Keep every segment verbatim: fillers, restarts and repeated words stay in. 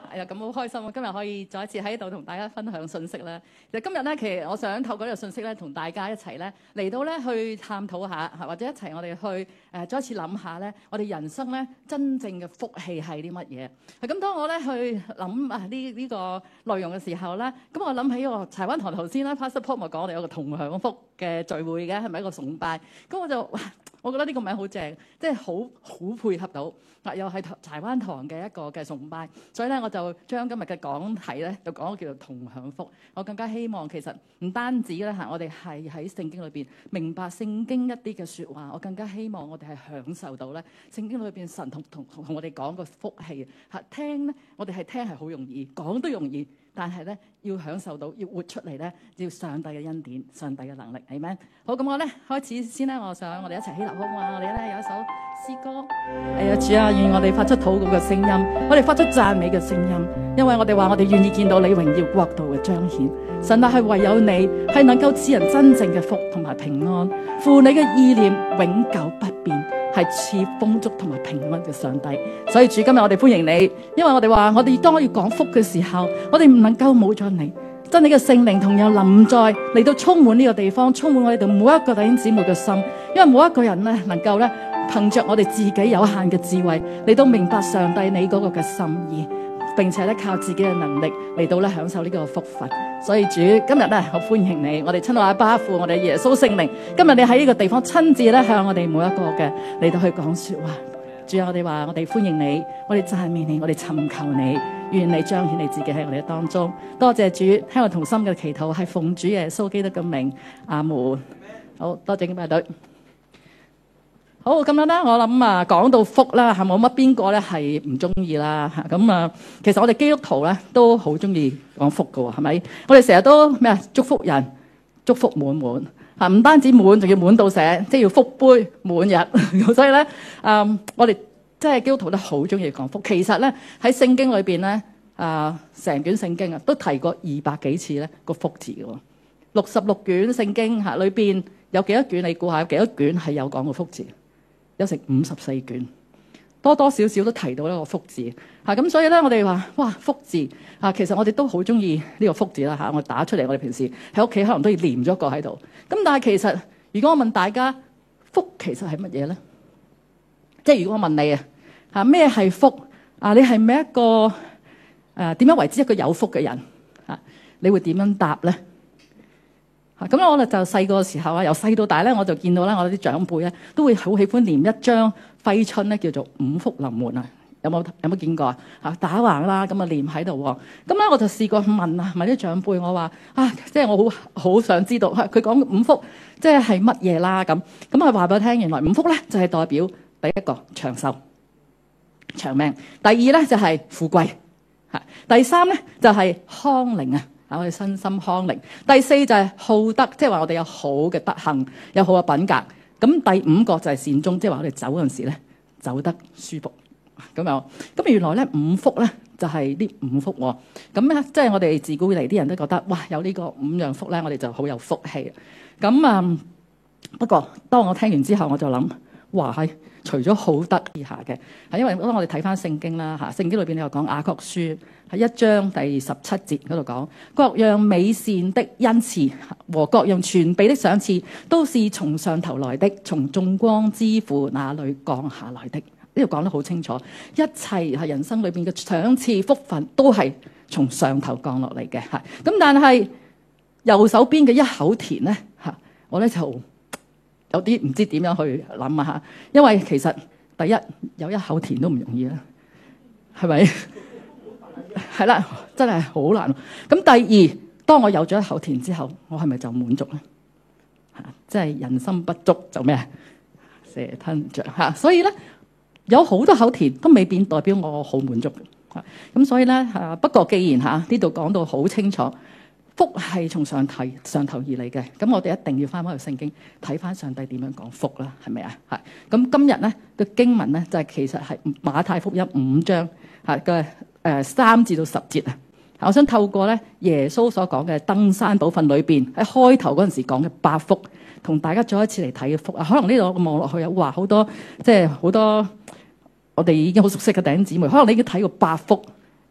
係啊，咁好開心啊！今日可以再一次喺度同大家分享信息咧。其實今日咧，其實我想透過呢個信息咧，同大家一齊咧嚟到咧去探討下，或者一齊我哋去誒、呃、再一次諗下咧，我哋人生咧真正嘅福氣係啲乜嘢？咁當我咧去諗啊呢呢、呢個內容嘅時候咧，咁我諗起我柴灣堂頭先啦 Pastor Paul 咪講我哋有個同享福嘅聚會嘅，係咪一個崇拜？咁我就哇，我覺得呢個名好正，即係好好配合到嗱，又係柴灣堂嘅一個嘅崇拜，所以咧我就將今日嘅講題咧就講叫做同享福。我更加希望其實唔單止咧嚇，我哋係喺聖經裏邊明白聖經一啲嘅説話，我更加希望我哋係享受到咧聖經裏邊神同同同我哋講個福氣嚇。聽咧，我哋係聽係好容易，講都容易。但係咧，要享受到，要活出嚟咧，要上帝嘅恩典、上帝嘅能力，係咪？好，咁我咧開始先咧，我想我哋一齊起立好嘛？我哋咧有一首詩歌，係啊，主啊，願我哋發出禱告嘅聲音，我哋發出讚美嘅聲音，因為我哋話我哋願意見到你榮耀國度嘅彰顯。神啊，係唯有你係能夠賜人真正嘅福同埋平安，父你嘅意念永久不變，係賜豐足同埋平安嘅上帝。所以主，今日我哋歡迎你，因為我哋話我哋當我要講福嘅時候，我哋唔能夠冇咗你，真理嘅聖靈同樣臨在嚟到充滿呢個地方，充滿我哋每一個弟兄姊妹嘅心，因為每一個人咧能夠咧憑着我哋自己有限嘅智慧嚟到明白上帝你嗰個嘅心意，並且咧靠自己嘅能力嚟到咧享受呢個福分。所以主今日咧，我歡迎你，我哋親愛阿爸父，我哋耶穌聖靈，今日你喺呢個地方親自咧向我哋每一個嘅嚟到去講說話。主啊，我哋話我哋歡迎你，我哋讚美你，我哋尋求你，願你彰顯你自己喺我哋當中。多謝主，聽我同心嘅祈禱係奉主耶穌基督嘅名，阿門。好多謝敬拜隊。好，咁樣啦，我諗啊，講到福啦，係冇乜邊個咧係唔中意啦嚇。咁啊，其實我哋基督徒咧都好中意講福噶喎，係咪？我哋成日都咩啊？祝福人，祝福滿滿嚇，唔單止滿，仲要滿到瀉，即係要福杯滿日。所以咧，嗯，我哋即係基督徒都好中意講福。其實咧喺聖經裏邊咧，啊，成卷聖經啊都提過二百幾次咧個福字嘅喎。六十六卷聖經嚇裏邊有幾多卷？你估下有幾多卷係有講過福字？有成五十四卷，多多少少都提到呢個福字嚇，咁所以咧我哋話哇福字嚇，其實我哋都好中意呢個福字啦嚇，我打出嚟，我哋平時喺屋企可能都要黏咗個喺度。咁但係其實如果我問大家福其實係乜嘢咧？即係如果我問你啊嚇咩係福啊？你係咪一個誒點樣為之一個有福嘅人嚇？你會點樣答咧？咁我哋就細個時候啊，由細到大咧，我就見到咧，我啲長輩咧都會好喜歡黏一張揮春咧，叫做五福臨門啊！有冇有冇見過啊？嚇打橫啦，咁啊黏喺度喎。咁咧我就試過問啊，問啲長輩，我話啊，即係我好好想知道，佢講五福即係係乜嘢啦？咁咁佢話俾我聽，原來五福咧就係代表第一個長壽、長命；第二咧就係富貴；嚇第三咧就係康寧啊！我哋身心康寧。第四就係好德，即係話我哋有好嘅德行，有好嘅品格。咁第五個就係善終，即係話我哋走嗰陣時咧走得舒服咁樣。咁原來咧五福咧就係呢五福喎。咁咧即係我哋自古以嚟啲人都覺得哇，有呢個五樣福咧，我哋就好有福氣。咁啊、嗯，不過當我聽完之後，我就諗哇係。除咗好德以下嘅，係因為當我哋睇翻聖經啦嚇，聖經裏邊你又講雅各書喺一章第十七節嗰度講，各樣美善的恩賜和各樣全備的賞賜，都是從上頭來的，從眾光之父那裏降下來的。呢度講得好清楚，一切係人生裏邊嘅賞賜福分都係從上頭降落嚟嘅嚇。咁但係右手邊嘅一口田咧嚇，我咧就有啲唔知點樣去諗啊嚇，因為其實第一有一口田都唔容易啦，係咪？係啦，真係好難。咁第二，當我有咗一口田之後，我係咪就滿足咧？嚇，即係人心不足就咩啊？蛇吞象嚇，所以咧有好多口田都未必代表我好滿足嚇。咁所以咧嚇，不過既然嚇呢度講到好清楚。福係從上頭上頭而嚟嘅，咁我哋一定要翻返去聖經睇翻上帝點樣講福啦，係咪啊？係咁今日咧個經文咧就係、是、其實係馬太福音五章嚇嘅誒三至到十節啊。我想透過咧耶穌所講嘅登山寶訓裏邊喺開頭嗰陣時講嘅八福，同大家再一次嚟睇嘅福啊。可能呢度望落去啊，哇好多即係好多我哋已經好熟悉嘅弟兄姊妹，可能你已經睇過八福。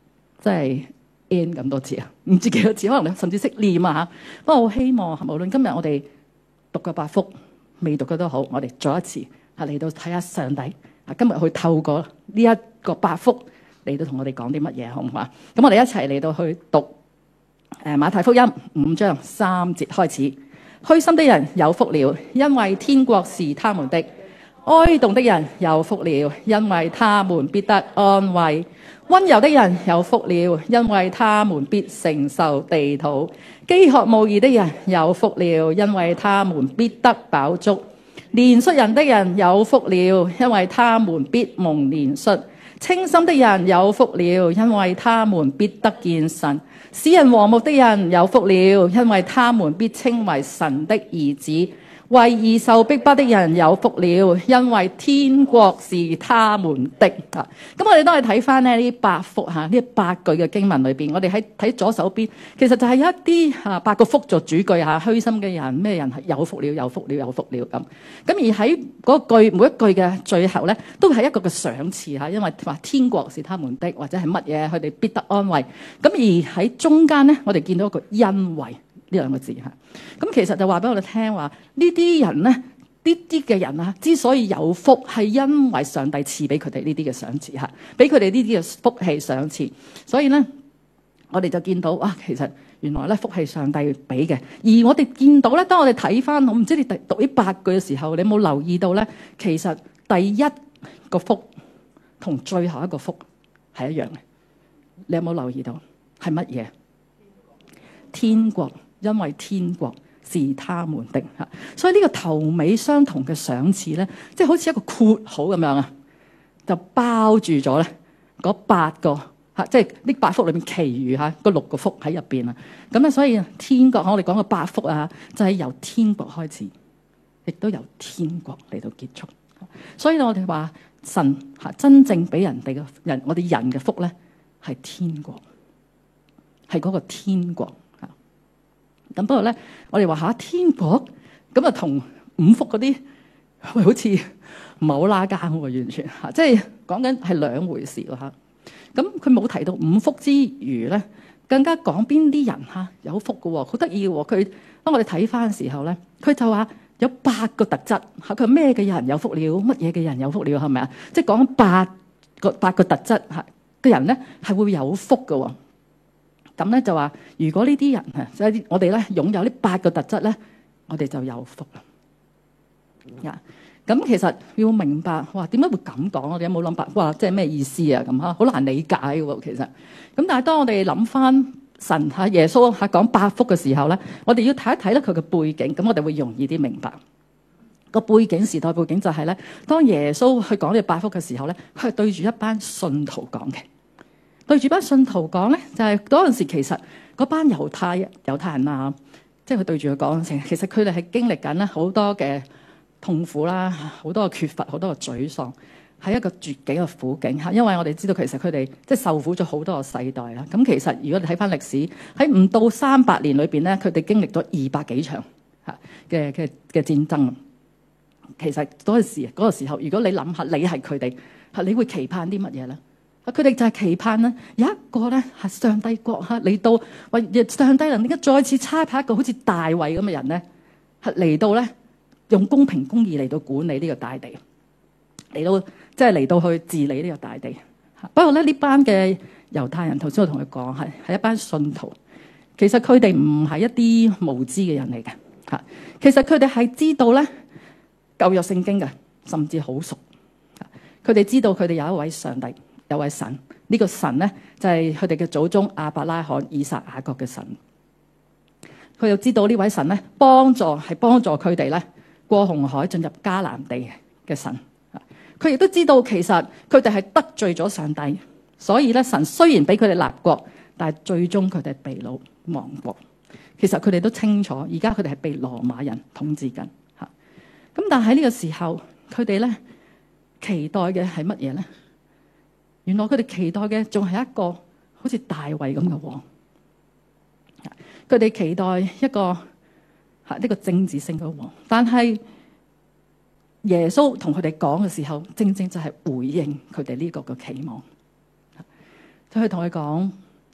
真係 N 咁多字啊，唔知幾多字，可能你甚至識念啊嚇。不過我希望無論今日我哋讀嘅八福，未讀嘅都好，我哋再一次啊嚟到睇下上帝啊今日去透過呢一個八福嚟到同我哋講啲乜嘢，好唔好啊？咁我哋一齊嚟到去讀誒馬太福音五章三節開始。虛心的人有福了，因為天國是他們的；哀慟的人有福了，因為他們必得安慰；溫柔的人有福了，因為他們必承受地土；飢渴慕義的人有福了，因為他們必得飽足；憐恤人的人有福了，因為他們必蒙憐恤；清心的人有福了，因為他們必得見神；使人和睦的人有福了，因為他們必稱為神的兒子；為義受逼迫的人有福了，因為天國是他們的。咁我哋都係睇翻呢八福嚇，呢八句嘅經文裏邊，我哋喺睇左手邊，其實就係有一啲嚇八個福做主句嚇，虛心嘅人咩人係有福了，有福了，有福了咁。咁而喺嗰句每一句嘅最後咧，都係一個嘅賞賜嚇，因為話天國是他們的，或者係乜嘢，佢哋必得安慰。咁而喺中間咧，我哋見到一個因為呢兩個字嚇。咁其實就話俾我哋聽話，呢啲人咧，呢啲嘅人啊，之所以有福，係因為上帝賜俾佢哋呢啲嘅賞賜嚇，俾佢哋呢啲嘅福氣賞賜。所以咧，我哋就見到啊，其實原來咧福氣上帝俾嘅。而我哋見到咧，當我哋睇翻，我唔知你讀呢八句嘅時候，你有冇留意到咧？其實第一個福同最後一個福係一樣嘅。你有冇留意到係乜嘢？天國，因為天國是他們的嚇，所以呢個頭尾相同嘅賞賜咧，即係好似一個括號咁樣啊，就包住咗咧嗰八個嚇，即係呢八福裏面其餘嚇嗰六個福喺入邊啊。咁咧，所以天國我哋講嘅八福啊，就係由天國開始，亦都由天國嚟到結束。所以我哋話神嚇真正俾人哋嘅人，我哋人嘅福咧係天國，係嗰個天國。咁不過咧，我哋話下天國咁啊，同五福嗰啲好似唔係好拉更喎，完全嚇，即係講緊係兩回事咯嚇。咁佢冇提到五福之餘咧，更加講邊啲人嚇有福嘅喎，好得意嘅喎。佢當我哋睇翻嘅時候咧，佢就話有八個特質嚇，佢咩嘅人有福了，乜嘢嘅人有福了，係咪啊？即係講八個八個特質嚇嘅人咧係會有福嘅喎。咁咧就話，如果呢啲人啊，即係我哋咧擁有呢八個特質咧，我哋就有福啦。呀，咁其實要明白，哇，點解會咁講？我哋有冇諗白？哇，即係咩意思啊？咁嚇，好難理解嘅喎，其實。咁但係當我哋諗翻神嚇耶穌嚇講八福嘅時候咧，我哋要睇一睇咧佢嘅背景，咁我哋會容易啲明白。個背景時代背景就係咧，當耶穌去講呢個八福嘅時候咧，佢係對住一班信徒講嘅。對住班信徒講咧，就係嗰陣時其實嗰班猶太猶太人啊，即係佢對住佢講，其實佢哋係經歷緊咧好多嘅痛苦啦，好多嘅缺乏，好多嘅沮喪，係一個絕境嘅苦境嚇。因為我哋知道其實佢哋即係受苦咗好多個世代啦。咁其實如果你睇翻歷史，喺唔到三百年裏邊咧，佢哋經歷咗二百幾場嚇嘅嘅嘅戰爭。其實嗰陣時嗰個時候，如果你諗下你係佢哋嚇，你會期盼啲乜嘢咧？佢哋就係期盼咧，有一個咧係上帝國嚇嚟到，為上帝能點解再次差派一個好似大衛咁嘅人咧，係嚟到咧用公平公義嚟到管理呢個大地，嚟到即係嚟到去治理呢個大地。不過咧呢班嘅猶太人，頭先我同佢講係係一班信徒，其實佢哋唔係一啲無知嘅人嚟嘅嚇，其實佢哋係知道咧舊約聖經嘅，甚至好熟。佢哋知道佢哋有一位上帝。有位神，呢、這個神咧就係佢哋嘅祖宗亞伯拉罕、以撒、雅各嘅神。佢又知道呢位神咧幫助係幫助佢哋咧過紅海進入迦南地嘅神。佢亦都知道其實佢哋係得罪咗上帝，所以咧神雖然俾佢哋立國，但係最終佢哋被擄亡國。其實佢哋都清楚，而家佢哋係被羅馬人統治緊嚇。咁但係喺呢個時候，佢哋咧期待嘅係乜嘢咧？原來佢哋期待嘅仲係一個好似大衛咁嘅王，佢哋期待一個嚇呢個政治性嘅王，但係耶穌同佢哋講嘅時候，正正就係回應佢哋呢個嘅期望。佢同佢講：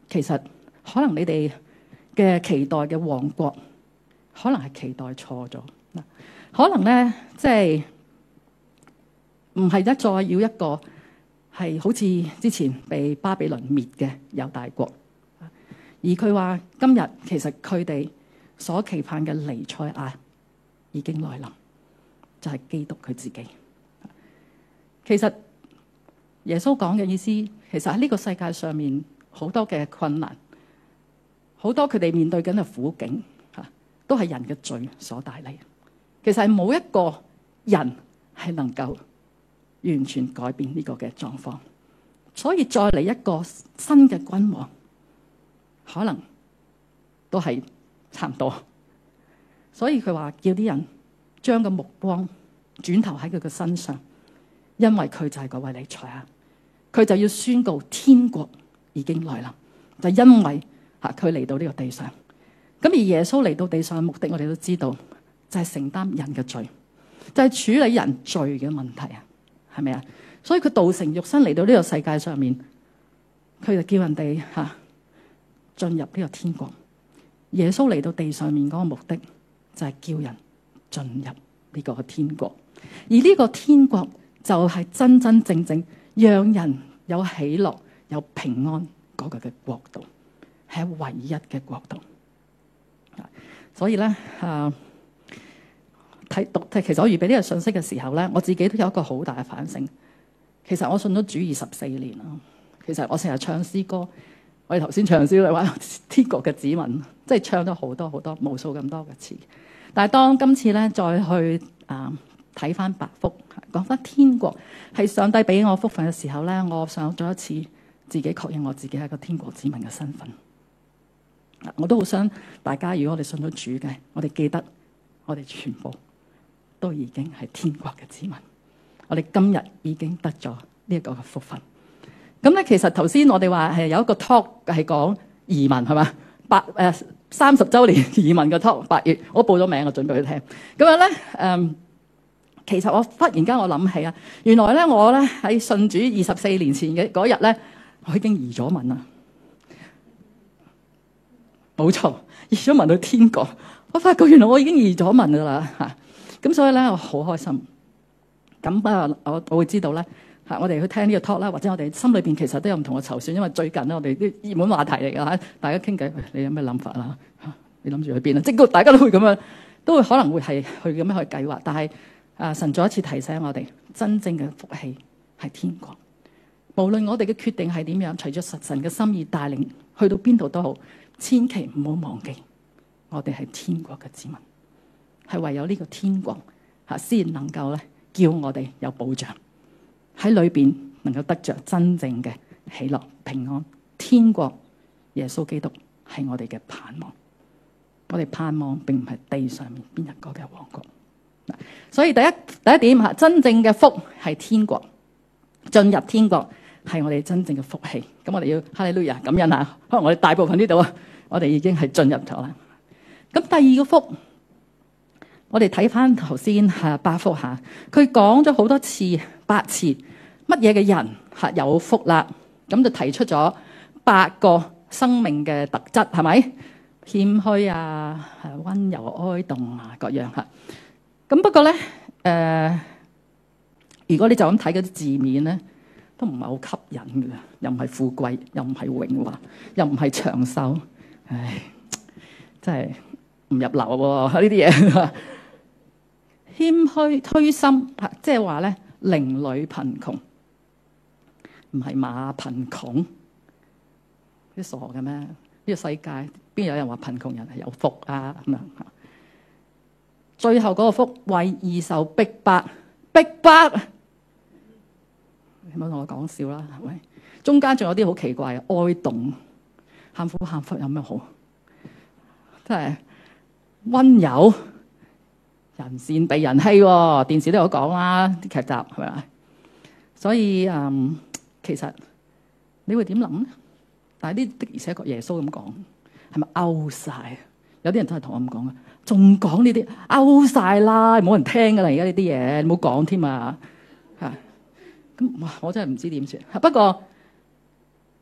其實可能你哋嘅期待嘅王國，可能係期待錯咗嗱。可能咧，即係唔係一再要一個係好似之前被巴比倫滅嘅猶大國，而佢話今日其實佢哋所期盼嘅彌賽亞已經來臨，就係基督佢自己。其實耶穌講嘅意思，其實喺呢個世界上面好多嘅困難，好多佢哋面對緊嘅苦境，吓都係人嘅罪所帶嚟。其實係冇一個人係能夠完全改變呢個嘅狀況，所以再嚟一個新嘅君王，可能都係差唔多。所以佢話叫啲人將個目光轉頭喺佢嘅身上，因為佢就係嗰位彌賽亞，佢就要宣告天國已經來臨，就因為吓佢嚟到呢個地上。咁而耶穌嚟到地上嘅目的，我哋都知道就係承擔人嘅罪，就係處理人罪嘅問題啊，係咪啊？所以佢道成肉身嚟到呢個世界上面，佢就叫人哋吓進入呢個天國。耶穌嚟到地上面嗰個目的就係叫人進入呢個天國，而呢個天國就係真真正正讓人有喜樂、有平安嗰個嘅國度，係唯一嘅國度。所以咧，啊睇讀，其實我預備呢個信息嘅時候咧，我自己都有一個好大嘅反省。其實我信咗主二十四年啦，其實我成日唱詩歌，我哋頭先唱詩嚟話天國嘅子民，即係唱咗好多好多無數咁多嘅詞。但係當今次咧再去啊睇翻八福，講翻天國係上帝俾我福分嘅時候咧，我想再一次自己確認我自己係個天國子民嘅身份。我都好想大家，如果我哋信咗主嘅，我哋記得我哋全部都已經係天國嘅子民。我哋今日已經得咗呢一個嘅福分。咁咧，其實頭先我哋話係有一個 talk 係講移民係嘛？八誒三十週年移民嘅 talk， 八月我報咗名，我準備去聽。咁樣咧誒，其實我忽然間我諗起啊，原來咧我咧喺信主二十四年前嘅嗰日咧，我已經移咗民啦。冇錯，移咗民到天國。我發覺原來我已經移咗民噶啦嚇，咁所以咧我好開心。咁啊，我我會知道咧嚇，我哋去聽呢個 talk 啦，或者我哋心裏邊其實都有唔同嘅籌算，因為最近咧我哋啲熱門話題嚟㗎嚇，大家傾偈，你有咩諗法啦嚇？你諗住去邊啊？即係大家都會咁樣，都會可能會係去咁樣去計劃。但係啊，神再一次提醒我哋，真正嘅福氣係天國。無論我哋嘅決定係點樣，隨著神嘅心意帶領，去到邊度都好。千祈唔好忘記，我哋係天國嘅子民，係唯有呢個天國吓，先能夠咧叫我哋有保障喺裏邊，能夠得着真正嘅喜樂平安。天國耶穌基督係我哋嘅盼望，我哋盼望並唔係地上面邊一個嘅王國。所以第一第一點吓，真正嘅福係天國，進入天國係我哋真正嘅福氣。咁我哋要哈利路亞感恩啊！可能我哋大部分呢度啊，我哋已經係進入咗啦。咁第二個福，我哋睇翻頭先吓八福吓，佢講咗好多次八次乜嘢嘅人吓有福啦。咁就提出咗八個生命嘅特質，係咪謙虛啊、溫柔哀慟啊各樣吓。咁不過咧，誒、呃，如果你就咁睇嗰啲字面咧，都唔係好吸引嘅，又唔係富貴，又唔係榮華，又唔係長壽，唉，真係唔入流喎呢啲嘢。謙虛推心，即係話咧，鄰里貧窮，唔係馬貧窮，啲傻嘅咩？呢、這個世界邊有人話貧窮人係有福啊？咁樣。最後嗰個福，為義受逼迫，逼迫。你唔好同我講笑啦，係咪？中間仲有啲好奇怪嘅哀慟，喊苦喊忽有咩好？真係溫柔，人善被人欺喎。電視都有講啦，啲劇集係咪？所以嗯，其實你會點諗咧？但係呢的而且確耶穌咁講，係咪 out 晒？有啲人真係同我咁講啊，仲講呢啲 out 晒啦，冇人聽噶啦，而家呢啲嘢你唔好講添啊嚇。咁哇，我真係唔知點算。不過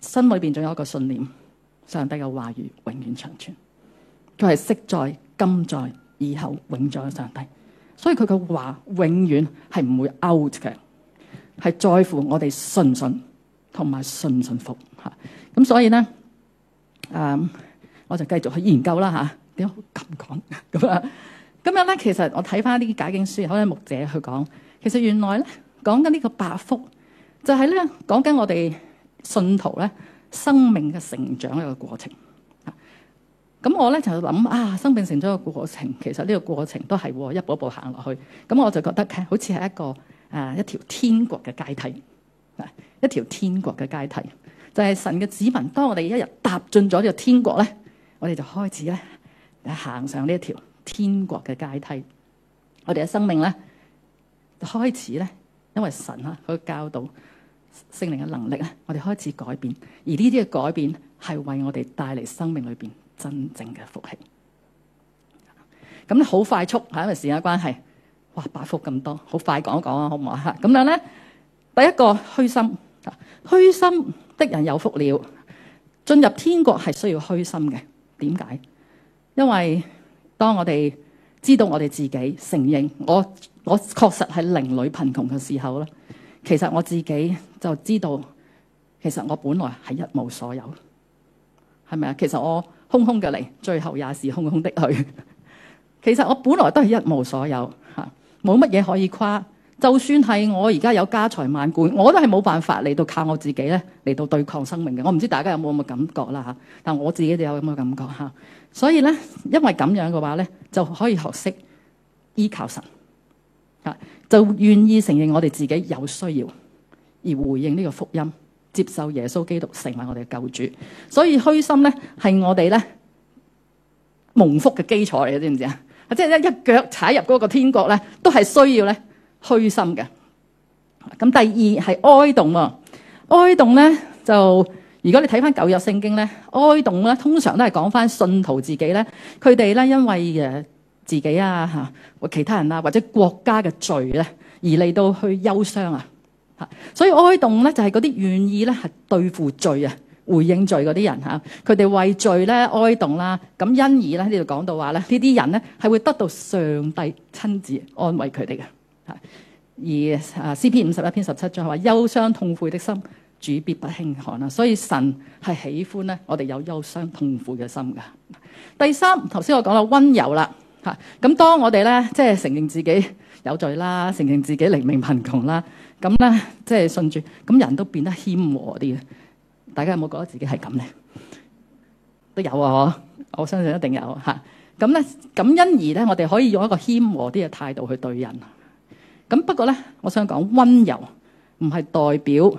心裏邊仲有一個信念，上帝嘅話語永遠長存。佢係昔在、今在、以後永在嘅上帝，所以佢嘅話永遠係唔會 out 嘅，係在乎我哋信唔信同埋信唔信服吓。咁所以咧，誒、嗯，我就繼續去研究啦吓。點解咁講咁啊？咁樣咧，其實我睇翻啲解經書，可能牧者去講，其實原來咧講緊呢個八福，就係咧講緊我哋信徒咧生命嘅成長一個過程。咁我咧就諗啊，生命成長嘅過程，其實呢個過程都係一步一步行落去。咁我就覺得好似係一個誒、啊、一條天國嘅階梯，啊，一條天國嘅階梯，就係、是、神嘅子民。當我哋一日踏進咗呢個天國咧，我哋就開始咧行上呢一條天國嘅階梯。我哋嘅生命咧就開始咧，因為神啊佢教導聖靈嘅能力咧，我哋開始改變。而呢啲嘅改變係為我哋帶嚟生命裏邊真正嘅福氣。咁咧好快速嚇，因為時間關係，哇，八福咁多，好快講一講啊，好唔好啊？咁樣咧，第一個虛心，虛心的人有福了。進入天國係需要虛心嘅。點解？因為當我哋知道我哋自己承認我我確實係靈裏貧窮嘅時候咧，其實我自己就知道，其實我本來係一無所有，係咪啊？其實我空空嘅嚟，最後也是空空的去。其實我本來都係一無所有嚇，冇乜嘢可以誇。就算係我而家有家財萬貫，我都係冇辦法嚟到靠我自己咧嚟到對抗生命嘅。我唔知大家有冇咁嘅感覺啦嚇，但我自己就有咁嘅感覺嚇。所以咧，因為咁樣嘅話咧，就可以學識依靠神嚇，就願意承認我哋自己有需要，而回應呢個福音，接受耶穌基督成為我哋嘅救主。所以虛心咧係我哋咧蒙福嘅基礎嚟嘅，知唔知啊？即係一一腳踩入嗰個天國咧，都係需要咧虛心嘅。咁第二係哀慟喎，哀慟咧就如果你睇翻舊約聖經咧，哀慟咧通常都係講翻信徒自己咧，佢哋咧因為誒自己啊嚇或其他人啊或者國家嘅罪咧而嚟到去憂傷啊嚇，所以哀慟咧就係嗰啲願意咧係對付罪啊，回應罪嗰啲人嚇，佢哋為罪咧哀慟啦，咁因而咧呢度講到話咧，呢啲人咧係會得到上帝親自安慰佢哋嘅嚇。而啊詩篇五十一篇十七章話憂傷痛悔的心，主必不輕看啊，所以神係喜歡咧我哋有憂傷痛悔嘅心噶。第三，頭先我講啦溫柔啦嚇，咁當我哋咧即係承認自己有罪啦，承認自己靈命貧窮啦，咁咧即係信主，咁人都變得謙和啲嘅。大家有冇覺得自己係咁咧？都有啊，我相信一定有嚇。咁咧，咁因而咧，我哋可以用一個謙和啲嘅態度去對人。咁不過咧，我想講溫柔唔係代表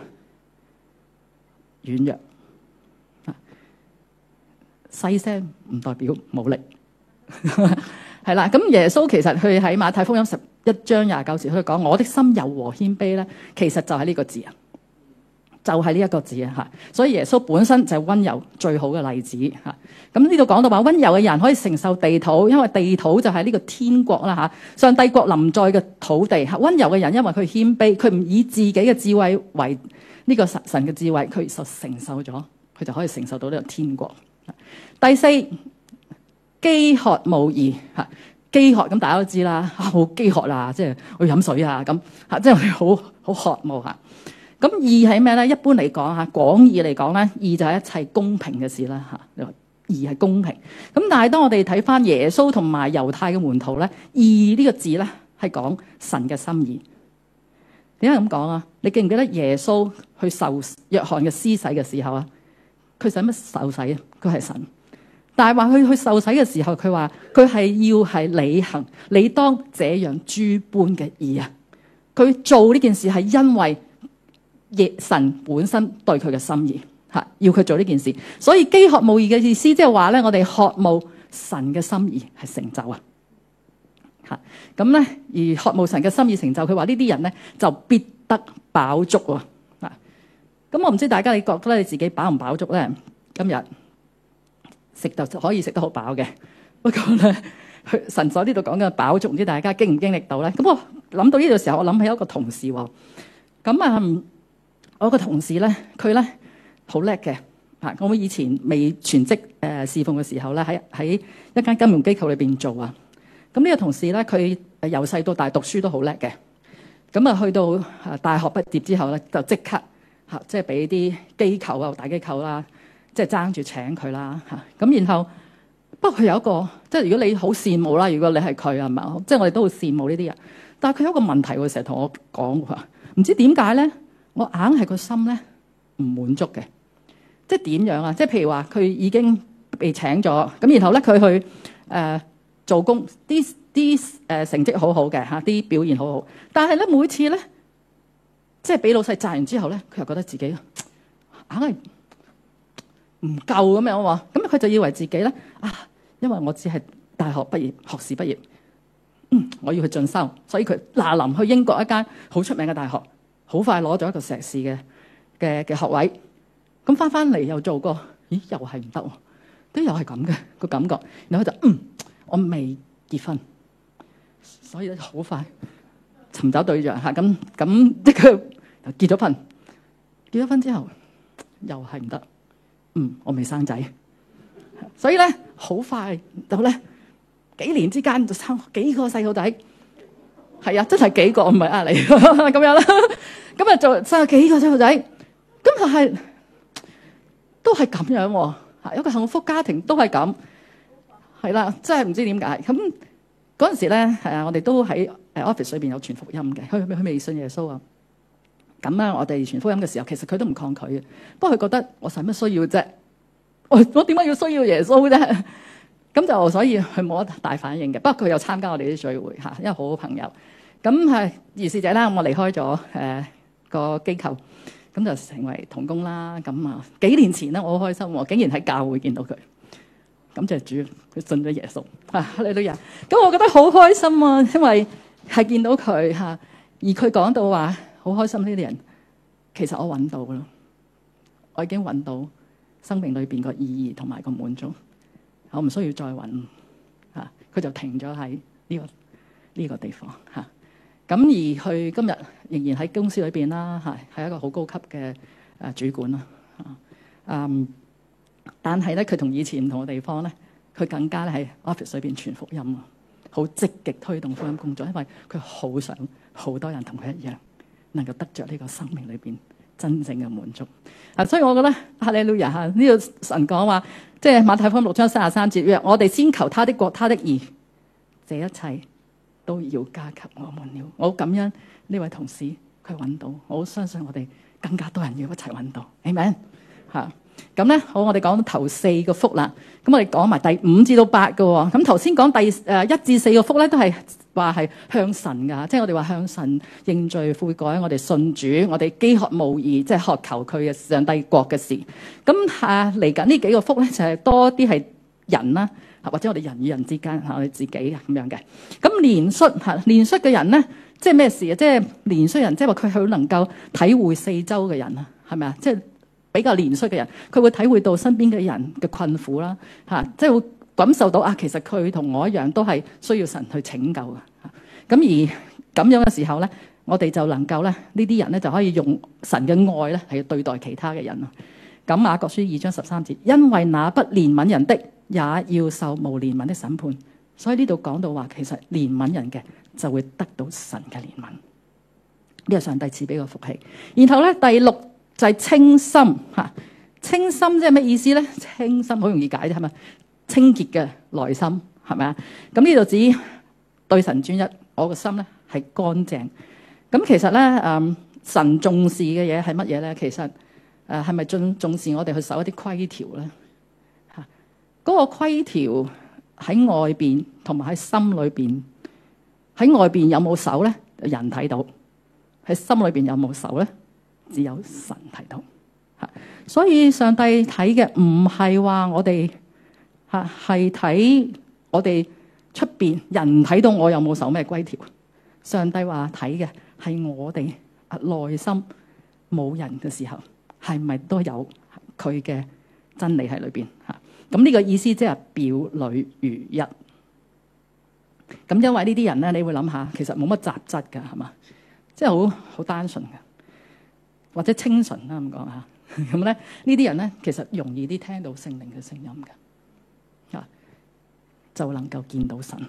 軟弱，細聲唔代表冇力。係啦，咁耶穌其實佢喺馬太福音十一章廿九節，佢講我的心柔和謙卑咧，其實就係呢個字啊。就係呢一個字啊嚇，所以耶穌本身就係溫柔最好嘅例子嚇。咁呢度講到話溫柔嘅人可以承受地土，因為地土就係呢個天國啦嚇，上帝國臨在嘅土地嚇。溫柔嘅人因為佢謙卑，佢唔以自己嘅智慧為呢個神神嘅智慧，佢就承受咗，佢就可以承受到呢個天國。第四，飢渴慕義嚇，飢渴咁大家都知啦，好飢渴啦，即係去飲水啊咁嚇，即係我哋好好渴慕嚇。咁義係咩咧？一般嚟講嚇，廣義嚟講咧，義就係一切公平嘅事啦嚇。你話義係公平，咁但係當我哋睇翻耶穌同埋猶太嘅門徒咧，義呢個字咧係講神嘅心意。點解咁講啊？你記唔記得耶穌去受約翰嘅施洗嘅時候啊？佢使乜受洗啊？佢係神，但係話佢去受洗嘅時候，佢話佢係要係履行你當這樣諸般嘅義啊！佢做呢件事係因為神本身對佢嘅心意嚇，要佢做呢件事，所以飢渴慕義嘅意思，即係話咧，我哋渴慕神嘅心意係成就啊嚇。咁咧，而渴慕神嘅心意成就，佢話呢啲人咧就必得飽足喎嚇。咁我唔知大家你覺得你自己飽唔飽足咧？今日食就可以食得好飽嘅，不過咧，神所呢度講嘅飽足，唔知大家經唔經歷到咧？咁我諗到呢度時候，我諗起一個同事喎，咁啊。我個同事咧，佢咧好叻嘅嚇。我以前未全職誒侍奉嘅時候咧，喺喺一間金融機構裏邊做啊。咁呢個同事咧，佢由細到大讀書都好叻嘅。咁啊，去到啊大學畢業之後咧，就即刻嚇，即係俾啲機構啊、大機構啦，即係爭住請佢啦嚇。咁然後不過佢有一個，即係如果你好羨慕啦，如果你係佢係嘛，即係我哋都好羨慕呢啲人。但係佢有一個問題喎，成日同我講話，唔知點解咧，我硬係個心咧唔滿足嘅。即係點樣啊？即係譬如話，佢已經被請咗，咁然後咧佢去誒、呃、做工，啲啲誒成績好好嘅嚇，啲表現好好。但係咧每次咧，即係俾老細讚完之後咧，佢又覺得自己硬係唔夠咁樣喎。咁佢就以為自己咧啊，因為我只係大學畢業、學士畢業，嗯，我要去進修，所以佢嗱臨去英國一間好出名嘅大學，好快攞咗一個碩士嘅嘅嘅學位。咁翻翻嚟又做過，咦？又係唔得喎，都又係咁嘅個感覺。然後佢就嗯，我未結婚，所以咧好快尋找對象嚇。咁咁即係佢結咗婚，結咗婚之後又係唔得。嗯，我未生仔，所以咧好快就咧幾年之間就生幾個細路仔。係啊，真係幾個，唔係呃你咁樣啦。咁啊就生咗幾個細路仔，咁就係。都係咁樣喎，嚇，一個幸福家庭都係咁，係啦，真係唔知點解。咁嗰陣時咧，係啊，我哋都喺誒 office 裏邊有傳福音嘅，佢佢未信耶穌啊。咁咧，我哋傳福音嘅時候，其實佢都唔抗拒嘅，不過佢覺得我使乜需要啫？我我點解要需要耶穌啫？咁就所以佢冇乜大反應嘅。不過佢又參加我哋啲聚會嚇，因為好好朋友。咁係如是者啦，我離開咗誒個機構。咁就成為同工啦。咁啊，幾年前咧，我好開心喎，竟然喺教會見到佢。咁就主，佢信咗耶穌啊！你女人，咁我覺得好開心啊，因為係見到佢嚇，而佢講到話好開心呢啲人，其實我揾到咯，我已經揾到生命裏邊個意義同埋個滿足，我唔需要再揾嚇。佢就停咗喺呢個呢個地方嚇。咁而佢今日仍然喺公司裏邊啦，係係一個好高級嘅誒主管啦。嗯，但係咧，佢同以前唔同嘅地方咧，佢更加咧喺 office 裏邊傳福音啊，好積極推動福音工作，因為佢好想好多人同佢一樣，能夠得着呢個生命裏邊真正嘅滿足啊。所以我覺得哈利路亞嚇，呢個神講話，即係馬太福音六章三十三節，若我哋先求他的國、他的義，這一切都要加給我們了。我好感恩呢位同事佢揾到，我好相信我哋更加多人要一齊揾到。阿們嚇。咁咧好，我哋講到頭四個福啦。咁我哋講埋第五至到八個喎。咁頭先講第誒一至四個福咧，都係話係向神噶，即係我哋話向神認罪悔改，我哋信主，我哋飢渴慕義，即係渴求佢嘅上帝國嘅事。咁啊嚟緊呢幾個福咧，就係多啲係人啦，或者我哋人與人之間嚇，我哋自己咁樣嘅。咁憐恤嚇，憐恤嘅人咧，即係咩事啊？即係憐恤人，即係話佢好能夠體會四周嘅人啊，係咪啊？即係比較憐恤嘅人，佢會體會到身邊嘅人嘅困苦啦，嚇，即係會感受到啊，其實佢同我一樣都係需要神去拯救嘅。咁而咁樣嘅時候咧，我哋就能夠咧呢啲人咧就可以用神嘅愛咧嚟對待其他嘅人啊。咁雅各書二章十三節，因為那不憐憫人的，也要受無憐憫的審判。所以呢度講到話，其實憐憫人嘅就會得到神嘅憐憫，呢個上帝賜俾個福氣。然後咧第六就係清心嚇，清心即係咩意思咧？清心好容易解啫，係咪？清潔嘅內心係咪啊？咁呢度指對神專一，我個心咧係乾淨。咁其實咧，誒神重視嘅嘢係乜嘢咧？其實誒係咪重重視我哋去守一啲規條咧？嚇，嗰個規條喺外邊同埋喺心裏邊，喺外邊有冇守咧？人睇到，喺心裏邊有冇守咧？只有神睇到嚇，所以上帝睇嘅唔係話我哋嚇，係睇我哋出邊人睇到我有冇守咩規條。上帝話睇嘅係我哋內心冇人嘅時候，係咪都有佢嘅真理喺裏邊嚇？咁呢個意思即係表裏如一。咁因為呢啲人咧，你會諗下，其實冇乜雜質㗎，係嘛？即係好好單純嘅。或者清純啦咁講嚇， 咁咧呢啲人咧其實容易啲聽到聖靈嘅聲音嘅，啊就能夠見到神。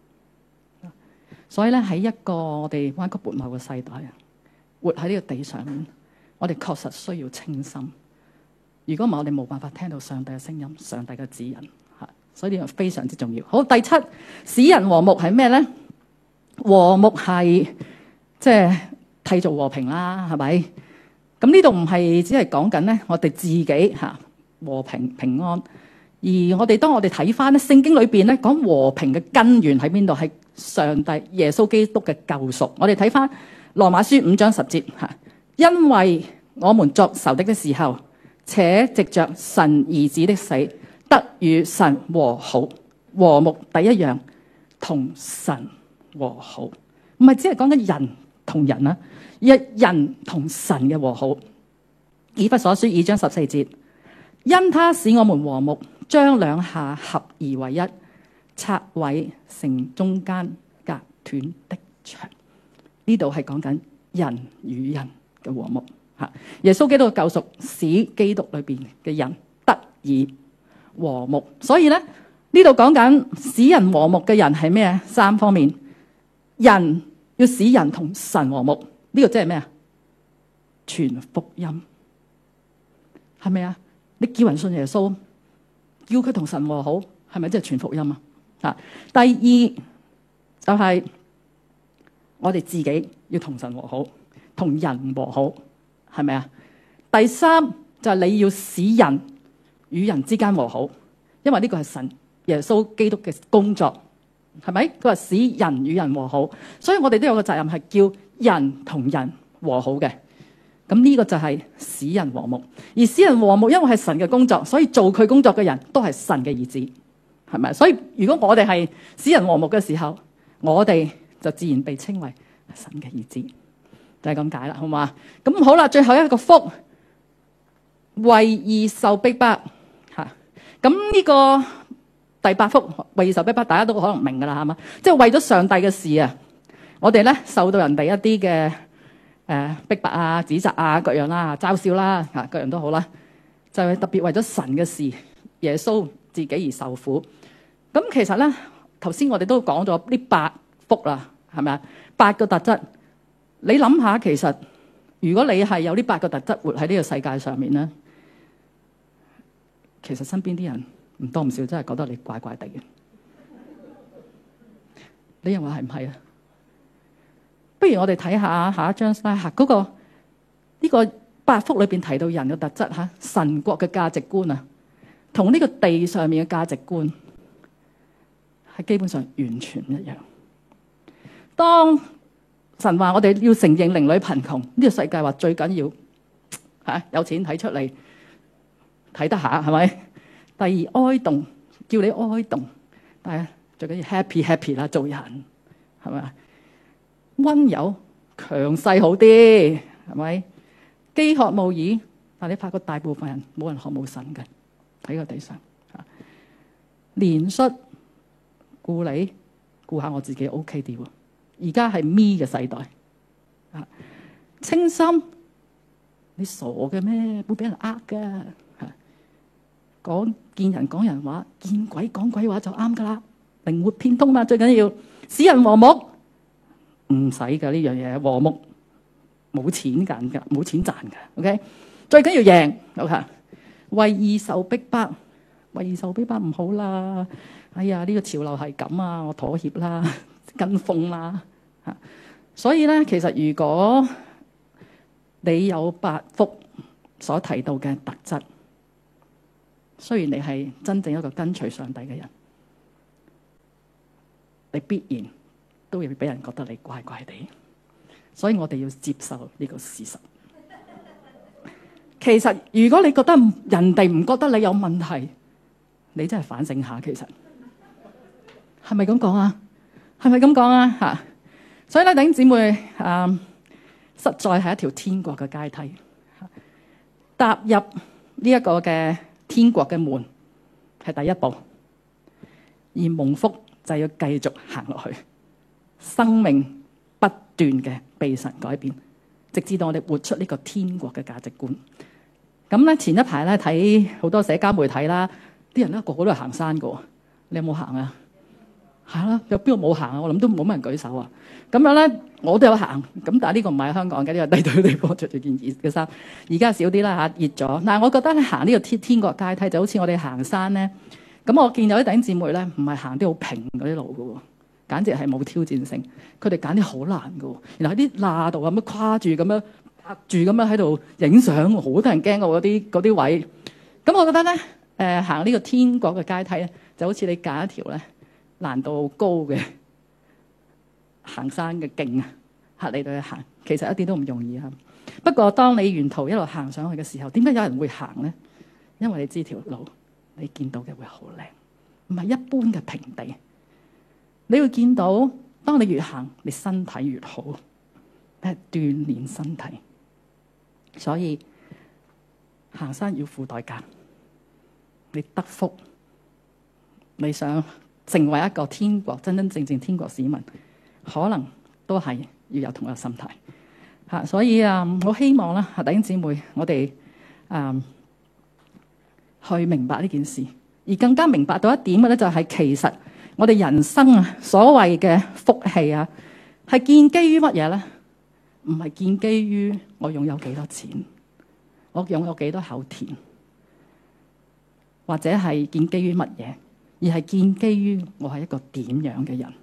所以咧喺一個我哋彎曲悖謬嘅世代啊，活喺呢個地上面，我哋確實需要清心。如果唔係，我哋冇辦法聽到上帝嘅聲音、上帝嘅指引嚇。所以呢樣非常之重要。好，第七，使人和睦係咩咧？和睦係即係締造和平啦，係咪？咁呢度唔係只係講緊咧，我哋自己嚇和平平安。而我哋當我哋睇翻咧聖經裏邊咧講和平嘅根源喺邊度？係上帝耶穌基督嘅救贖。我哋睇翻羅馬書五章十節嚇，因為我們作仇敵的時候，且藉着神兒子的死，得與神和好。和睦第一樣，同神和好，唔係只係講緊人同人啊，而係人同神嘅和好。以弗所書二章十四節，因他使我們和睦，將兩下合而為一，拆毀成中間隔斷的牆。呢度係講緊人與人嘅和睦吓。耶穌基督嘅救贖使基督裏邊嘅人得以和睦。所以咧呢度講緊使人和睦嘅人係咩？三方面，人要使人同神和睦，呢個即係咩啊？傳福音係咪啊？你叫人信耶穌，叫佢同神和好，係咪即係傳福音啊？啊，第二就係我哋自己要同神和好，同人和好，係咪啊？第三就係你要使人與人之間和好，因為呢個係神耶穌基督嘅工作，係咪？佢話使人與人和好，所以我哋都有個責任係叫人同人和好嘅。咁呢個就係使人和睦，而使人和睦因為係神嘅工作，所以做佢工作嘅人都係神嘅兒子，係咪？所以如果我哋係使人和睦嘅時候，我哋就自然被稱為神嘅兒子，就係咁解啦，好嘛？咁好啦，最後一個福，為義受逼迫吓。咁呢個第八福為義受逼迫，大家都可能明噶啦，係嘛？即係為咗上帝嘅事啊，我哋咧受到人哋一啲嘅誒逼迫啊、指責啊、各樣啦、嘲笑啦吓，各樣都好啦，就係特別為咗神嘅事，耶穌自己而受苦。咁其實咧，頭先我哋都講咗呢八福啦，係咪啊？八個特質，你諗下，其實如果你係有呢八個特質活喺呢個世界上面咧，其實身邊啲人唔多唔少真係覺得你怪怪地嘅。你認為係唔係啊？不如我哋睇下下一張 slide 吓，嗰個呢個八福裏邊提到人嘅特質吓，神國嘅價值觀啊，同呢個地上面嘅價值觀係基本上完全唔一樣。當神話我哋要承認鄰里貧窮，呢個世界話最緊要吓有錢睇出嚟睇得下，係咪？第二哀慟，叫你哀慟，但係最緊要 happy happy 啦，做人係咪？溫柔強勢好啲，係咪？飢渴慕義，但你發覺大部分人冇人學冇神嘅喺個地上。憐恤顧你顧下我自己 OK 啲喎。而家係 me 嘅世代啊，清心，你傻嘅咩？會俾人呃㗎。講見人講人話，見鬼講鬼話就啱噶啦。靈活變通嘛，最緊要使人和睦。唔使噶呢樣嘢，和睦冇錢賺噶，冇錢賺噶。OK，最緊要贏。OK，為義受逼迫，為義受逼迫唔好啦。哎呀，呢個潮流係咁啊，我妥協啦，跟風啦。吓，所以咧，其實如果你有八福所提到嘅特質，雖然你係真正一個跟隨上帝嘅人，你必然都會俾人覺得你怪怪地，所以我哋要接受呢個事實。其實如果你覺得人哋唔覺得你有問題，你真係反省下，其實係咪咁講啊？係咪咁講啊？吓，所以咧，弟兄姊妹，啊、嗯，實在係一條天國嘅階梯，踏入呢一個嘅天國嘅門係第一步，而蒙福就要繼續行落去。生命不斷嘅被神改變，直至到我哋活出呢個天國嘅價值觀。 咁咧前一排咧睇好多社交媒體啦，啲人咧個個都係行山㗎喎，你有冇行啊？係啦，有邊個冇行啊？我諗都冇乜人舉手啊。咁樣咧，我都有行。咁但係呢個唔係香港嘅，呢個低對地方着住件熱嘅衫。而家少啲啦嚇，熱咗。但係我覺得咧行呢個天天國階梯就好似我哋行山咧。咁我見有啲弟兄姊妹咧，唔係行啲好平嗰啲路㗎喎，簡直係冇挑戰性。佢哋揀啲好難㗎喎，然後喺啲罅度咁樣跨住咁樣拍住咁樣喺度影相，好多人驚過嗰啲嗰啲位。咁我覺得咧，誒、呃、行呢個天國嘅階梯咧，就好似你揀一條咧難度高嘅行山嘅徑啊，嚇你哋去行，其實一啲都唔容易啊。不過當你沿途一路行上去嘅時候，點解有人會行咧？因為你知條路，你見到嘅會好靚，唔係一般嘅平地。你會見到，當你越行，你身體越好，係鍛鍊身體。所以行山要付代價，你得福，你想成為一個天國真真正正天國市民，可能都係要有同一個心態嚇。所以啊，我希望啦，弟兄姊妹，我哋啊去明白呢件事，而更加明白到一點嘅咧，就係其實我哋人生啊，所謂嘅福氣啊，係建基於乜嘢咧？唔係建基於我擁有幾多錢，我擁有幾多口田，或者係建基於乜嘢？而係建基於我係一個點樣嘅人。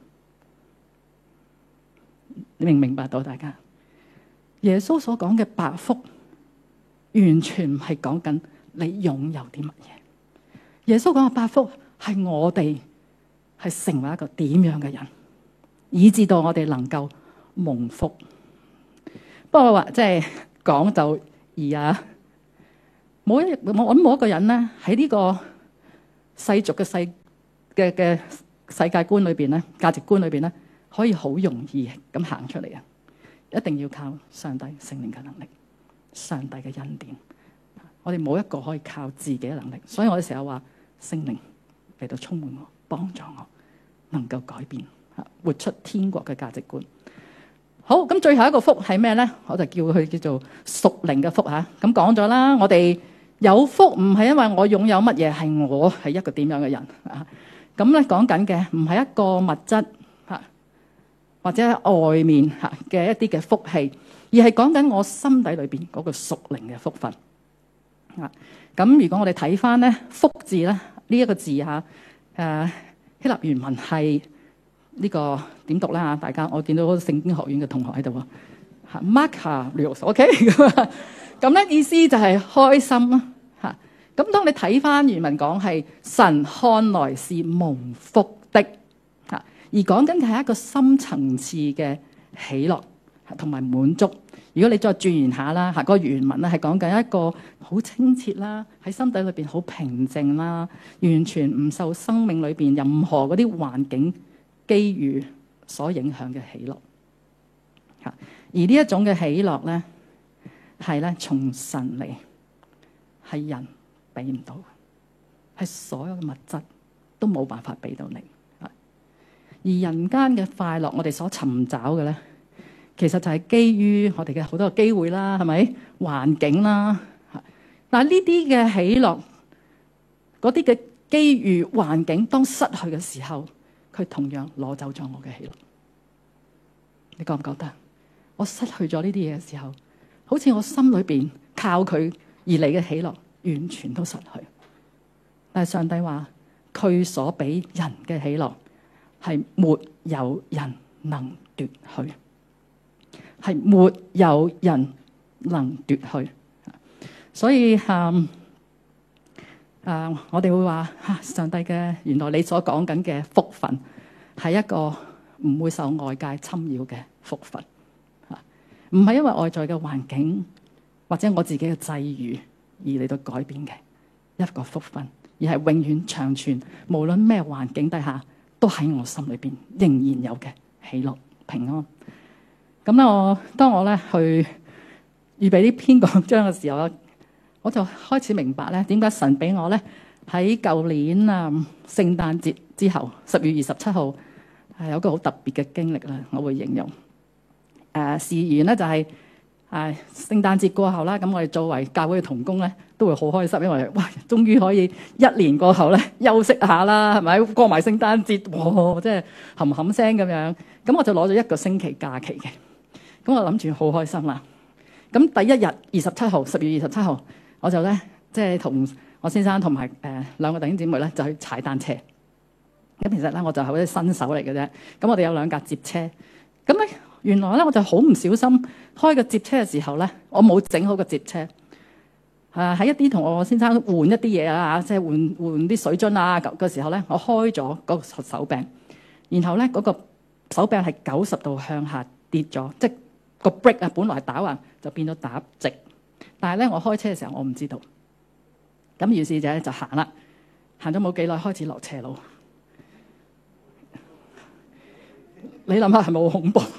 你明唔明白到？大家耶穌所講嘅百福，完全唔係講緊你擁有啲乜嘢。耶穌講嘅百福係我哋係成為一個點樣嘅人，以至到我哋能夠蒙福。不過話即係講就易啊！冇一我揾冇一個人咧喺呢個世俗嘅世嘅嘅世界觀裏邊咧，價值觀裏邊咧，可以好容易咁行出嚟啊！一定要靠上帝聖靈嘅能力，上帝嘅恩典。我哋冇一個可以靠自己嘅能力，所以我哋成日話聖靈嚟到充滿我，幫助我，能夠改變嚇，活出天國嘅價值觀。好，咁最後一個福係咩咧？我就叫佢叫做屬靈嘅福嚇。咁講咗啦，我哋有福唔係因為我擁有乜嘢，係我係一個點樣嘅人啊。咁咧講緊嘅唔係一個物質嚇，或者喺外面嚇嘅一啲嘅福氣，而係講緊我心底裏邊嗰個屬靈嘅福分啊。咁如果我哋睇翻咧福字咧呢一個字嚇，誒希臘原文係。呢、這個點讀啦嚇？大家我見到嗰個聖經學院嘅同學喺度喎，Makarios，OK 咁咧意思就係開心啦嚇。咁當你睇翻原文講係神看來是蒙福的嚇，而講緊嘅係一個深層次嘅喜樂同埋滿足。如果你再轉言下啦嚇，個原文咧係講緊一個好清澈啦，喺心底裏邊好平靜啦，完全唔受生命裏邊任何嗰啲環境機遇所影響嘅喜樂，嚇！而呢一種嘅喜樂咧，係咧從神嚟，係人俾唔到，係所有嘅物質都冇辦法俾到你。而人間嘅快樂，我哋所尋找嘅咧，其實就係基於我哋嘅好多嘅機會啦，係咪？環境啦，嚇！但係呢啲嘅喜樂，嗰啲嘅機遇環境，當失去嘅時候，佢同樣攞走咗我嘅喜樂，你覺唔覺得？我失去咗呢啲嘢嘅時候，好似我心裏邊靠佢而嚟嘅喜樂，完全都失去。但係上帝話，佢所俾人嘅喜樂，係沒有人能奪去，係沒有人能奪去。所以嗯。誒、uh，我哋會話嚇、啊，上帝嘅原來你所講緊嘅福分係一個唔會受外界侵擾嘅福分嚇，唔、啊、係因為外在嘅環境或者我自己嘅際遇而嚟到改變嘅一個福分，而係永遠長存，無論咩環境底下都喺我心裏邊仍然有嘅喜樂平安。咁咧，我當我咧去預備呢篇講章嘅時候，我就開始明白咧，點解神俾我咧喺舊年啊聖誕節之後十月二十七號係有個好特別嘅經歷啦。我會形容誒事緣咧就係係聖誕節過後啦，咁我哋作為教會嘅同工咧，都會好開心，因為哇，終於可以一年過後咧休息下啦，係咪？過埋聖誕節，哇，即係冚冚聲咁樣。咁我就攞咗一個星期假期嘅，咁我諗住好開心啦。咁第一日二十七號，十月二十七號，我就咧即係同我先生同埋誒兩個弟兄姊妹咧就去踩單車。咁其實咧我就係好似新手嚟嘅啫。咁我哋有兩架接車，咁咧。原來咧，我就好唔小心開個接車嘅時候咧，我冇整好個接車。誒、啊、喺一啲同我先生換一啲嘢啊，即係換換啲水樽啊嘅時候咧，我開咗嗰個手柄，然後咧嗰、嗰個手柄係九十度向下跌咗，即係個 brake 啊，本來係打橫就變咗打直。但係咧，我開車嘅時候我唔知道。咁於是就就行啦，行咗冇幾耐開始落斜路。你諗下係咪好恐怖？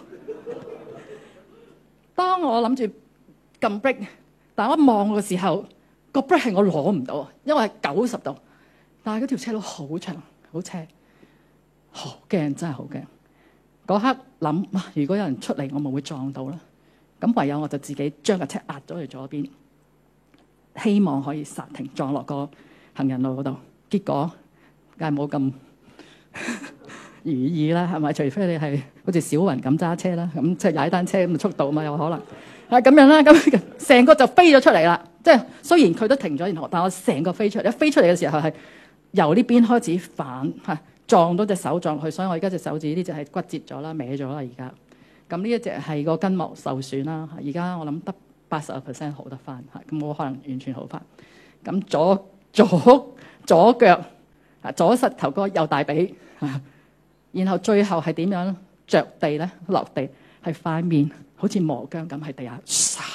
當我諗住撳 brake，但係我一望嘅時候，個 brake 係我攞唔到，因為係九十度。但係嗰條車路好長，好斜，好驚，真係好驚。嗰刻諗，如果有人出嚟，我咪會撞到啦。咁唯有我就自己將架車壓咗去左邊，希望可以剎停撞落個行人路嗰度。結果梗係冇咁如意啦，係咪？除非你係好似小雲咁揸車啦，咁即係踩單車咁嘅速度嘛，有可能啊咁樣啦。咁成個就飛咗出嚟啦。即係雖然佢都停咗，然後但我成個飛出嚟。一飛出嚟嘅時候係由呢邊開始反嚇撞到隻手撞落去，所以我而家隻手指呢隻係骨折咗啦，歪咗啦而家。咁呢一隻係個筋膜受損啦。而家我諗得八十個 percent 好得翻嚇，咁我可能完全好翻。咁左左左腳啊，左膝頭哥右大髀。然後最後係點樣着地咧？落地係塊面好似磨薑咁喺地下，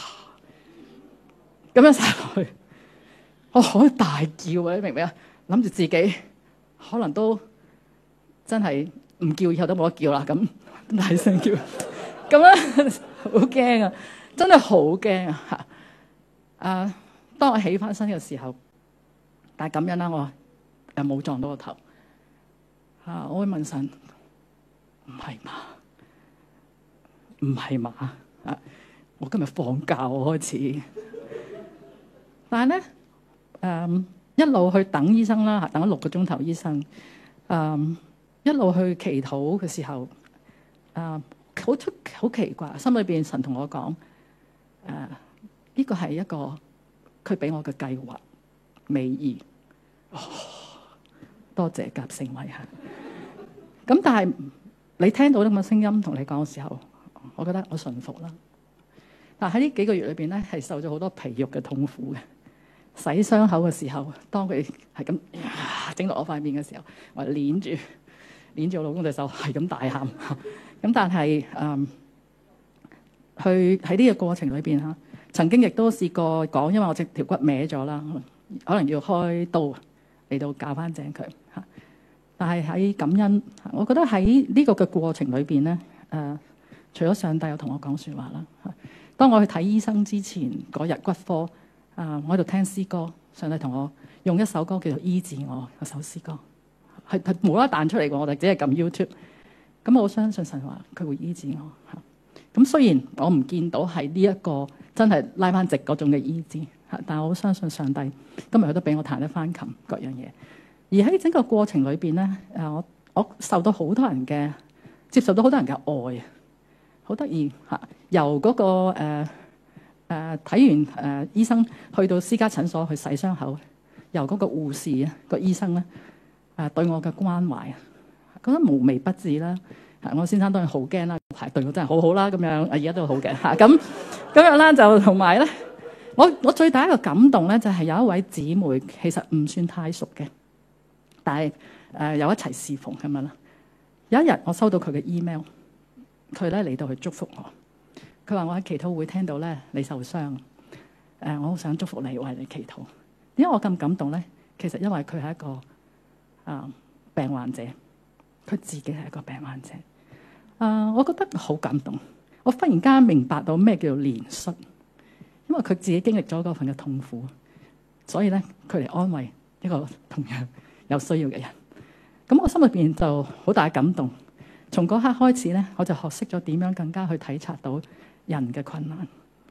咁樣撒落去，我好大叫啊！你明唔明啊？諗住自己可能都真係唔叫，以後都冇得叫啦。咁大聲叫，咁樣好驚啊！真係好驚啊！嚇啊！當我起翻身嘅時候，但係咁樣啦，我又冇撞到個頭。啊！我會問神，唔係嘛？唔係嘛？啊！我今日放假我開始，但係咧，誒、嗯、一路去等醫生啦，等咗六個鐘頭醫生，誒、嗯、一路去祈禱嘅時候，誒好出好奇怪，心裏邊神同我講，誒、啊、呢、這個係一個佢俾我嘅計劃美意。哦，多謝夾聖偉嚇。咁但係你聽到咁嘅聲音同你講嘅時候，我覺得我順服啦。但係喺呢幾個月裏邊咧，係受咗好多皮肉嘅痛苦嘅。洗傷口嘅時候，當佢係咁整落我塊面嘅時候，我捏住捏住我老公隻手，係咁大喊。咁但係誒，去喺呢個過程裏邊嚇，曾經亦都試過講，因為我隻條骨歪咗啦，可能要開刀嚟到校翻正佢嚇。但係喺感恩，我覺得喺呢個嘅過程裏邊咧，誒、呃，除咗上帝有同我講説話啦。當我去睇醫生之前嗰日骨科，啊、呃，我喺度聽詩歌，上帝同我用一首歌叫做《醫治我》嗰首詩歌，係係無啦啦彈出嚟嘅，我哋只係撳 YouTube。咁我相信神話佢會醫治我嚇。咁雖然我唔見到係呢一個真係拉翻直嗰種嘅醫治嚇，但係我相信上帝今日佢都俾我彈得翻琴各樣嘢。而喺整個過程裏邊咧，誒我我受到好多人嘅接受到好多人嘅愛，好得意嚇。由嗰、那個誒誒睇完誒醫生去到私家診所去洗傷口，由嗰個護士啊、那個醫生咧誒對我嘅關懷啊，覺得無微不至啦。我先生當然好驚啦，係對我真係好好啦咁樣，而家都好嘅嚇。咁咁樣啦，就同埋咧，我我最大一個感動咧，就係、是、有一位姊妹，其實唔算太熟嘅。但係誒、呃、有一齊侍奉咁樣啦。有一日我收到佢嘅 email，佢咧嚟到去祝福我。佢話我喺祈禱會聽到咧你受傷，誒、呃、我好想祝福你，為你祈禱。點解我咁感動咧？其實因為佢係一個啊、呃、病患者，佢自己係一個病患者。啊、呃，我覺得好感動。我忽然間明白到咩叫做憐恤，因為佢自己經歷咗嗰份嘅痛苦，所以咧佢嚟安慰一個同樣有需要嘅人，咁我心裏邊就好大感動。從嗰刻開始咧，我就學識咗點樣更加去體察到人嘅困難，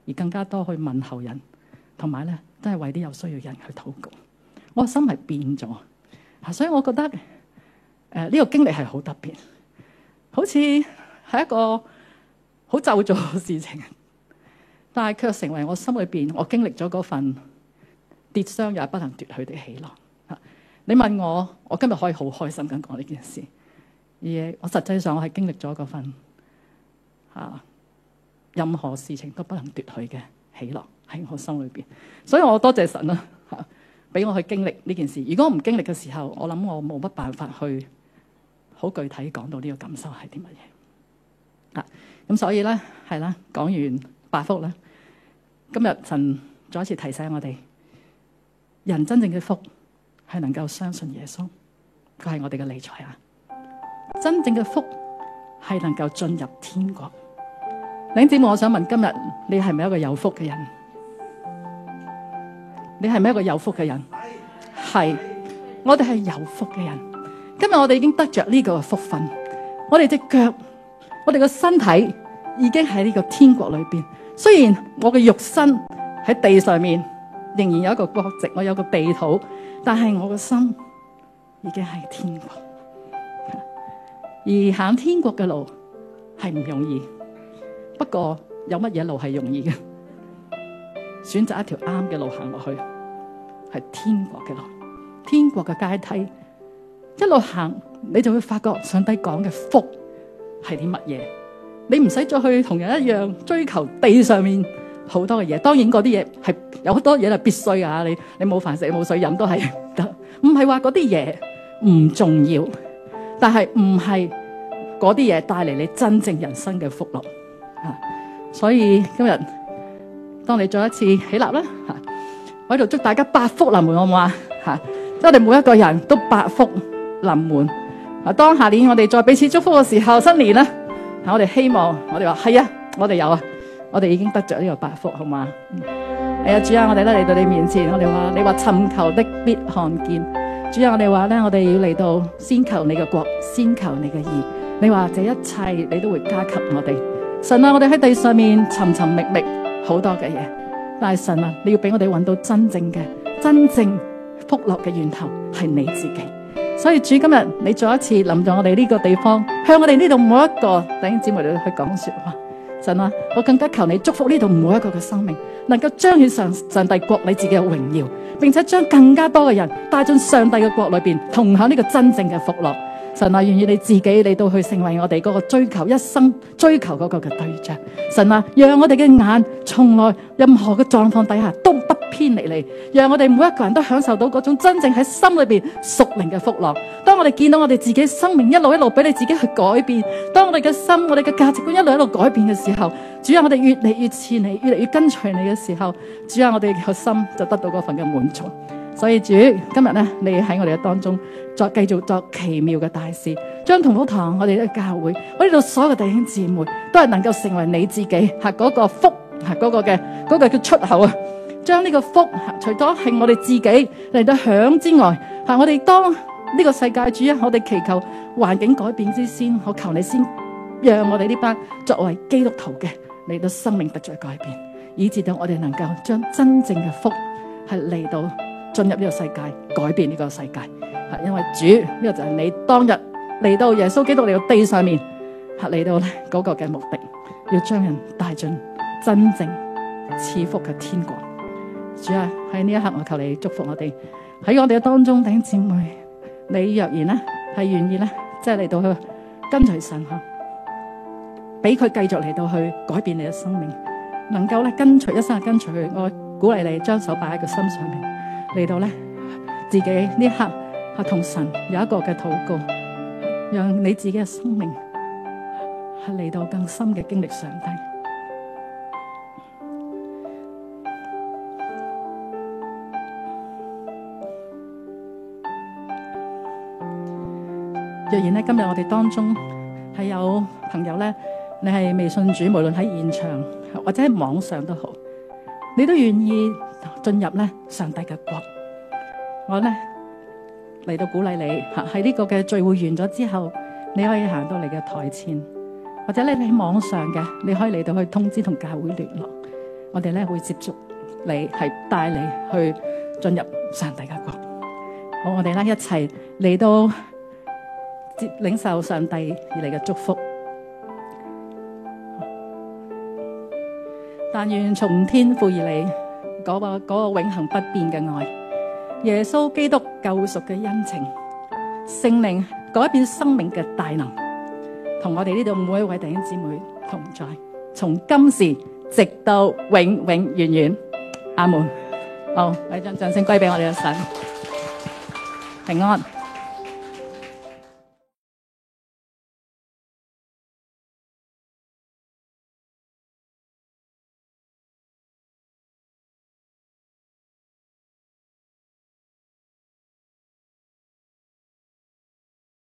而更加多去問候人，同埋咧都係為啲有需要嘅人去禱告。我心係變咗，所以我覺得誒呢、呃這個經歷係好特別，好似係一個好咒詛嘅事情，但係卻成為我心裏邊我經歷咗嗰份跌傷也不能奪去的喜樂。你問我，我今日可以好開心咁講呢件事，而我實際上我係經歷咗嗰份啊，任何事情都不能奪去嘅喜樂喺我心裏邊，所以我多謝神啦嚇，俾我去經歷呢件事。如果我唔經歷嘅時候，我諗我冇乜辦法去好具體講到呢個感受係啲乜嘢啊。咁所以咧係啦，講完八福啦，今日神再一次提醒我哋，人真正嘅福係能夠相信耶穌，佢係我哋嘅理財啊！真正嘅福係能夠進入天國。弟兄姊妹，我想問今日你係咪一個有福嘅人？你係咪一個有福嘅人？係，我哋係有福嘅人。今日我哋已經得着呢個福分，我哋隻腳，我哋個身體已經喺呢個天國裏邊。雖然我嘅肉身喺地上面仍然有一個國籍，我有個地土，但係我嘅心已經係天國。而行天國嘅路係唔容易，不過有乜嘢路係容易嘅？選擇一條啱嘅路行落去，係天國嘅路，天國嘅階梯，一路行你就會發覺上帝講嘅福係啲乜嘢。你唔使再去同人一樣追求地上面好多嘅嘢，當然嗰啲嘢係有好多嘢係必須啊！你你冇飯食冇水飲都係得，唔係話嗰啲嘢唔重要，但係唔係嗰啲嘢帶嚟你真正人生嘅福樂啊！所以今日當你再一次起立啦嚇，我喺度祝大家百福臨門，好唔好啊？嚇，我哋每一個人都百福臨門啊！當下年我哋再彼此祝福嘅時候，新年啦〜我哋希望，我哋話係啊，我哋有啊，我哋已經得着呢個百福，好嘛？係啊，主啊，我哋咧嚟到你面前，我哋話你話尋求的必看見。主啊，我哋話咧，我哋要嚟到先求你嘅國，先求你嘅義。你話這一切你都會加給我哋。神啊，我哋喺地上面尋尋覓覓好多嘅嘢，但係神啊，你要俾我哋揾到真正嘅、真正福樂嘅源頭係你自己。所以主今日你再一次臨咗我哋呢個地方，向我哋呢度每一個弟兄姊妹去講說話。神啊，我更加求你祝福呢度每一個嘅生命，能夠彰顯上上帝國你自己嘅榮耀，並且將更加多嘅人帶進上帝嘅國裏邊，同享呢個真正嘅福樂。神啊，願意你自己嚟到去成為我哋嗰個追求一生追求嗰個嘅對象。神啊，讓我哋嘅眼從來任何嘅狀況底下都不偏離你，讓我哋每一個人都享受到嗰種真正喺心裏邊屬靈嘅福樂。當我哋見到我哋自己生命一路一路俾你自己去改變，當我哋嘅心我哋嘅價值觀一路一路改變嘅時候，主啊，我哋越嚟越似你，越嚟越跟隨你嘅時候，主啊，我哋個心就得到嗰份嘅滿足。所以主今日咧，你喺我哋嘅當中再繼續作奇妙嘅大事，將同福堂我哋嘅教會，我哋度所有嘅弟兄姊妹都係能夠成為你自己係嗰個福係嗰個嘅嗰個叫出口啊！將呢個福除咗係我哋自己嚟到享之外，係我哋當呢個世界主啊，我哋祈求環境改變之先，我求你先讓我哋呢班作為基督徒嘅嚟到生命得着改變，以至到我哋能夠將真正嘅福係嚟到進入呢個世界，改變呢個世界。係因為主呢、這個就係你當日嚟到耶穌基督嚟到地上面，係嚟到嗰個嘅目的，要將人帶進真正賜福嘅天國。主啊，喺呢一刻我求你祝福我哋喺我哋嘅當中弟兄姊妹，你若然咧係願意咧，即係嚟到去跟隨神吓，俾佢繼續嚟到去改變你嘅生命，能夠咧跟隨一生跟隨佢。我鼓勵你將手擺喺佢心上面，嚟到咧自己呢一刻係同神有一個嘅禱告，讓你自己嘅生命係嚟到更深嘅經歷上帝。若然咧今日我哋當中係有朋友咧，你係未信主，無論喺現場或者喺網上都好，你都願意進入咧上帝嘅國，我咧嚟到鼓勵你吓，喺呢個嘅聚會完咗之後，你可以行到你嘅台前，或者你喺網上嘅，你可以嚟到去通知同教會聯絡， 我哋咧會接觸你，係帶你去進入上帝嘅國。好，我哋咧一齊嚟到接領受上帝而嚟嘅祝福。但願從天父而嚟嗰個嗰個永恆不變嘅愛，耶穌基督救贖嘅恩情，聖靈改變生命嘅大能，同我哋呢度每一位弟兄姊妹同在，從今時直到永永遠遠。阿門。好，我哋將掌聲歸俾我哋嘅神。平安。